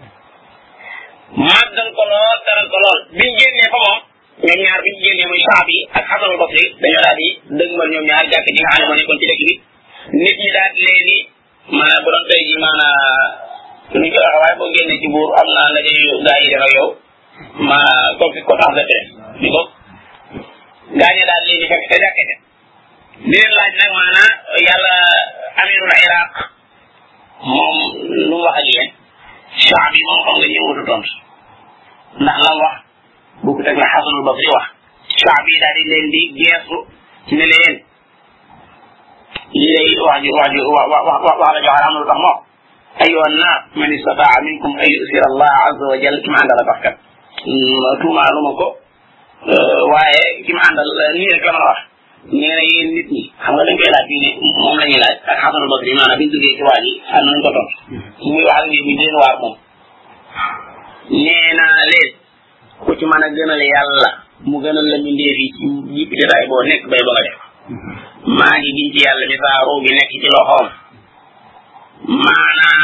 màggal ko lool taral ko lool biñ génnee fa moom ñoom ñaar biñ génnee muy Shaabi ak Xasanul Basri dañoo daal di dëgmal ñoom ñaar jàkk ji nga xam ne moo nekkoon ci dëkk bi nit ñi daal di leen di maanaam bu doon tey ji maanaa nuñ koy waxee waaye boo génnee ci buur am na la gaa yi def ak yow ma conférence de presse ni ko gaañe daal leen di fekk te jàkkete di leen laaj nag maanaa yàlla amirul Iraq moom lu mu wax ak yéen Shaabi moom xam nga ñëwutu tontu ndax la wax bu ko teg la Xasanul Basri wax Shaabi daal di leen di geesu ne leen lii lay wax la joxal am na lu tax moo أيها الناس من استطاع منكم أن يؤثر الله عز وجل كما عند الله فقط توما لومako waaye ki ma àndal nii rek la mën a wax nee na yéen nit ñi xam nga dañ koy laaj ne moom la ñuy laaj ak Xasanul Basri maanaam biñ duggee ci waa ji am nañ ko tontu muy wax ak nit ñi leen waar moom nee naa leen ku ci mën a gënal yàlla mu gënal la ñu ndéef yi ci jipp jotaay boo nekk bay ba nga def maa ngi giñ ci yàlla mi saa ruu gi nekk ci loxoom maanaa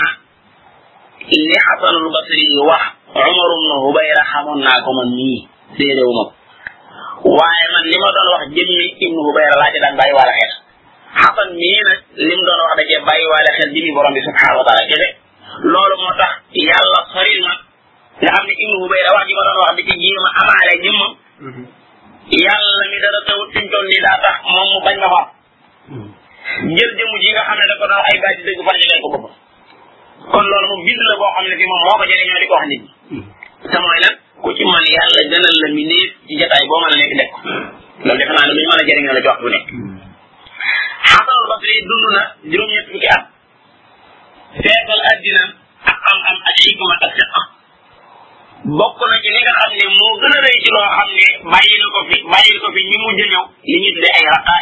li Xasanul Basri wax Umar ibn Hubayra xamoon naa ko man nii séeréewu ma waaye man li ma doon wax jëmmi ibnu Hubayra laa ci daan bàyyi waale xel Xasan mii nag li mu doon wax da cee bàyyi waale xel jëmmi borom bi subhanahu wa taala kese loolu moo tax yàlla soril ma nga xam ne ibnu Hubayra wax ji ma doon wax di ci jéem a amaale jëmmam yàlla mi dara tawut fi mu toll nii daa tax moom mu bañ ma fa jël jëmm ji nga xam ne da ko doon ay baati dëgg fan jegeen ko boppam kon loolu moom bind la boo xam ne fi moom moo ko jëriñoo di ko wax nit ñi te mooy lan ku ci man yàlla gënal la mi néef ci jotaay boo mën a nekk def ko loolu defe naa ne lu ñu mën a jëriñoo la ci wax bu nekk Xasanul Basri dund na juróom-ñett fukki at feetal addina ak am-am ak xikma ak fiqa bokk na ci li nga xam ne moo gën a rëy ci loo xam ne bàyyil ko fi ñi mujj ñëw li ñu tuddee ay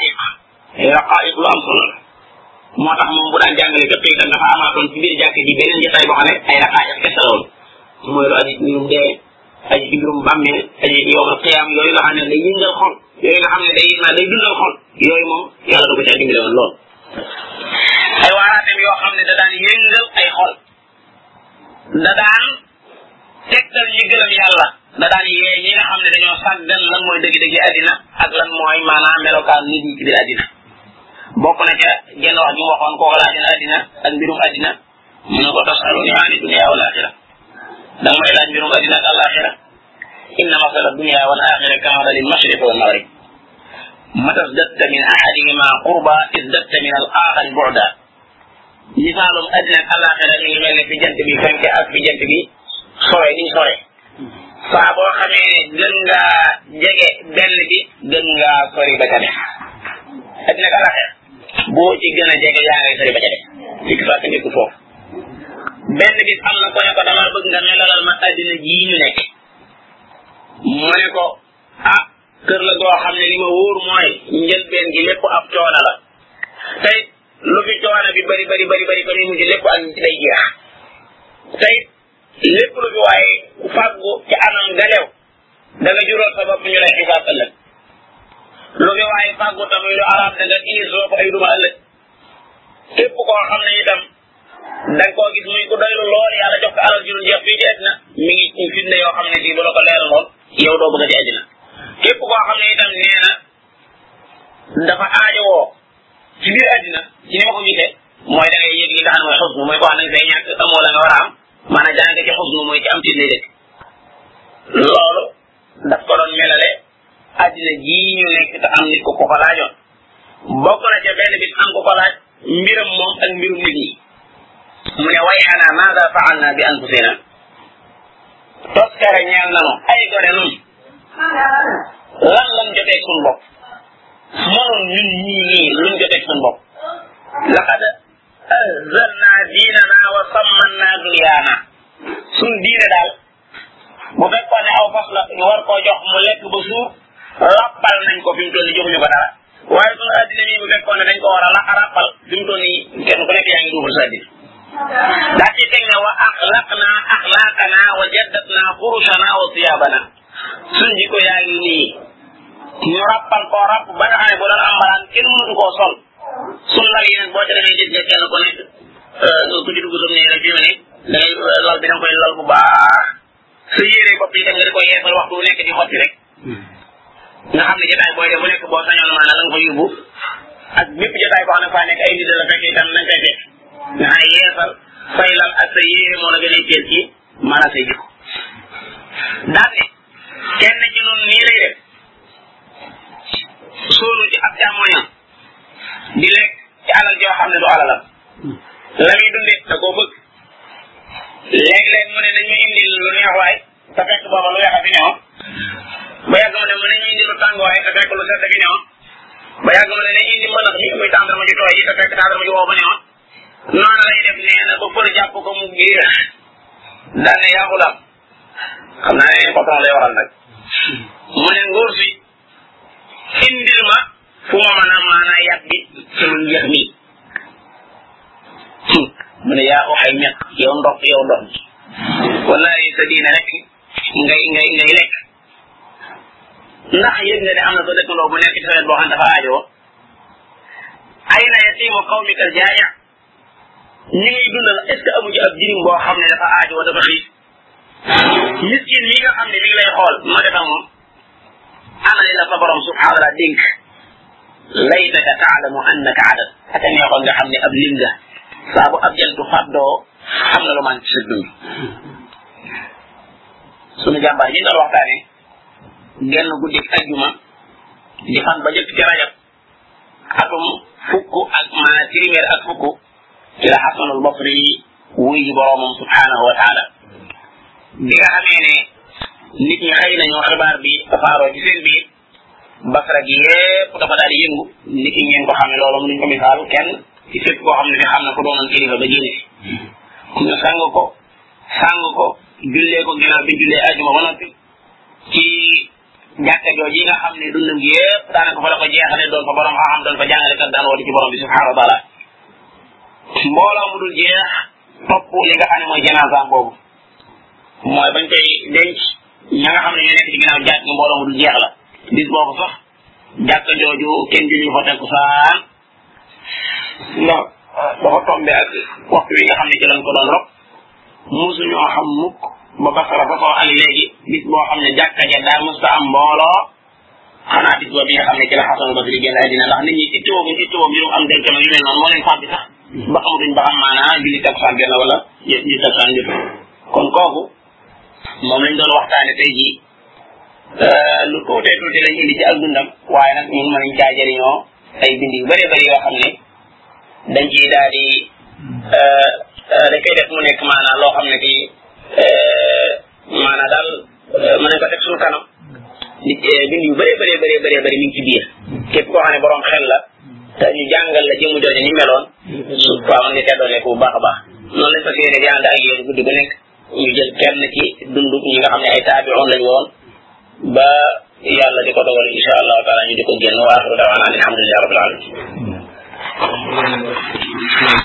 raqaiq lu am solo la moo tax moom bu daan jàngale ka tey dafa amaatoon ci biir jàkk ji beneen jotaay boo xam ne ay raqaiq kese la woon mooy lu aji ci mbirum dee aji ci mbirum bàmmeel aji ci yowmal qiyaam yooyu nga xam ne day yëngal xol yooyu nga xam ne day dundal xol yooyu moom yàlla da ko caa dimbale woon lool ay waaraateem yoo xam ne da daan yëngal ay xol da daan tegtal ñi gëlëm yàlla da daan yee ñi nga xam ne dañoo sàggan lan mooy dëgg-dëgg addina ak lan mooy maanaam melokaan nit ñi ci biir addina bokk na ca genn wax ñu waxoon kooku laajina addina ak mbirum addina mu ne ko tasaluni ani dunya wal axira danga may laaj mbirum addina ak alaxira inna masala dunya wal axira kamasali mashriq wal maghrib mata izdatta min ahadihima qurba izdatta min al axari bu'da misaalum addina ak alaxira ñu ngi mel ne fi jant bi fenke ak fi jant bi sore ni sore saa boo xamee ne gën ngaa jege benn bi gën ngaa sori ba ca def addina ak alaxira boo ci gën a jege yaa ngay sori ba ca def fekk saa ka nekk foofu benn bis am na ko ne ko dama bëgg nga melalal ma addina jii ñu nekk mu ne ko kër la goo xam ne li ma wóor mooy njëlbeen gi lépp ab coono la tey lu fi coono bi bari ko ni mujj lépp ak day jeex tey lépp lu fi waaye fàggu ci anam galew da nga jural sa bopp ñu lay xisaab ëllëg lu fi waaye fàggu tamit lu araam da nga iisoo ko ay duma ëllëg képp koo xam ne itam da nga koo gis muy ku doylu lool yàlla jox ko alal ju dul jeex fii ci àddina mi ngi ci fitne yoo xam ne fii bu la ko leeral lool yow doo bëgg a ci àddina képp koo xam ne itam nee na dafa aajowoo ci biir àddina ci ni ma ko gisee mooy da ngay yëg li nga xam ne mooy xusnu mooy ko xam ne say ñàkk amoo la nga war a am maanaam jàng ci xusnu mooy ci am ci lay dëkk loolu daf ko doon melale àddina jii ñu nekk te am nit ko ko laajoon bokk na ca benn bis am ko ko laaj mbiram moom ak mbirum nit ñi mu ne way xanaa maada faalna bi anfusina toskare ñeel nanu ay gone nun lan lan jotee suñ bopp mënoon ñun ñii luñ jotee suñ bopp laqad azalna diinana wa sammanna dunyaana suñ diine daal bu fekkoon ne aw fas la ñu war koo jox mu lekk ba suur rappal nañ ko fi mu toll nii joxuñu ko dara waaye suñu addina mi bu fekkoon ne dañ ko war a rappal fi mu toll nii kenn ku nekk yaa ngi duufal sa addina daa ci teg ne wa axlaqna axlaaqana wa jaddatna furushana wa siyaabana suñ jikko yaa ngi nii ñu rappal koo rapp ba nga xam ne bu doon am malaan kenn mënatu koo sol suñ lal yeneen boo ca demee gis nga kenn ku nekk ku ci dugg suñ nii rek fi mu ne da ngay lal bi da nga koy lal bu baax sa yére bopp yi da nga di ko yeesal waxtu nekk di xotti rek nga xam ne jotaay booy def bu nekk boo sañoon maanaam la nga ko yóbbu ak bépp jotaay boo xam ne faa nekk ay nit la fekk itam nañ koy fekk nga xam ne yeesal say lal ak sa yére moo la gën a teel ci maanaam say jikko daal ne kenn ci noonu nii lay def sóonu ci ab jàmmoñam di lekk ci alal joo xam ne du alalam la muy dundee da koo bëgg léeg-léeg mu ne nañu indi lu neex waay te fekk booba lu weex a fi newoon ba yàgg ma ne mu ne ñu indi lu tàng waay te fekk lu sedd fi newoon ba yàgg ma ne nañu indi mënax mi muy tàndarma ji tooy yi te fekk tàndarma ji wow ba newoon noonu lay def nee na ba fër jàpp ko mu giir daal ne yaa xulam xam naa ne patron lay waral nag mu ne nguur si indil ma fu ma mën a maanaa yàq bi sama njeex mi mu ne yaa waxay ñett yow ndox wallahi sa diine rek ngay lekk ndax yëg nga ne am na sa dëkkandoo bu nekk ci sa wet boo xam dafa aajoo ay na yatiimu qawmika jaaya ñi ngay dundal est ce que amu ci ab jirim boo xam ne dafa aajoo dafa xiif miskin yi nga xam ne mi ngi lay xool ma defa moom ana li la sa borom subhanahu wa taala dénk laytaka taalamu annaka adad aka neexoon nga xam ne ab lim nga saa bu ab jantu fàddoo xam na lu man ci sa dund sunu jàmbaar yi doon waxtaane genn guddi ajjuma di fan ba jëkk ci rajab atum fukk ak maanaam téeméer ak fukk ci la Hasanul Basri wuy ji boroomam subhanahu wa taala bi nga xamee ne nit ñi xëy nañu xibaar bi tasaaroo ci seen biir Basra gi yépp dafa daal di yëngu nit ñi ngeen ko xam ne loolu mënuñ ko misaal kenn ci fépp koo xam ne fi xam na ko doonoon kilifa ba génne fi ñu sang ko jullee ko ginnaaw bi jullee ajuma ba noppi ci jàkka jooju yi nga xam ne dundam gi yépp daanaka fa la ko jeexale doon fa borom xam doon fa jàngale kat daan woote ci borom bi subhanahu wa taala mbooloo mu dul jeex topp li nga xam ne mooy janaasa boobu mooy bañ koy denc ña nga xam ne ñoo nekk ci ginnaaw jàkk mbooloo mu dul jeex la bis boobu sax jàkka jooju kenn julli fa tekku saan ndax dafa tombe ak waxtu wi nga xam ne ci lañ ko doon rob musuñoo xam mukk ba Basra ba soo ak léegi bis boo xam ne jàkka ja daa musta am mbooloo xanaa bis boobu bi nga xam ne ci la Hasanul Basri génn àddina ndax nit ñi ittoo mbirum am dencam yu mel noonu moo leen fàbbi sax ba xamatuñ ba xam maanaa julli takkusaan genn wala julli takkusaan jot kon kooku moom lañ doon waxtaane tey jii lu tuutee tuuti lañ indi ci ak dundam waaye nag ñun mën nañ caa jëriñoo ay bind yu bëree bëri yoo xam ne dañ ciy daal di dañ koy def mu nekk maanaa loo xam ne fii maanaa daal mën nañ ko teg suñu kanam nit bind yu bëree bëri mi ngi ci biir képp koo xam ne borom xel la te ñu jàngal la jëmu jooju ni meloon su waaw mën nga teddoolee ko bu baax a baax noonu lañ fas yéene di ànd ak yéen guddi gu nekk ñu jël kenn ci dundu ñi nga xam ne ay taabi'un lañ woon ba yàlla di ko dogal insha allahu taala ñu di ko génn wa axiru da'waana alhamdulillahi rabbil alamin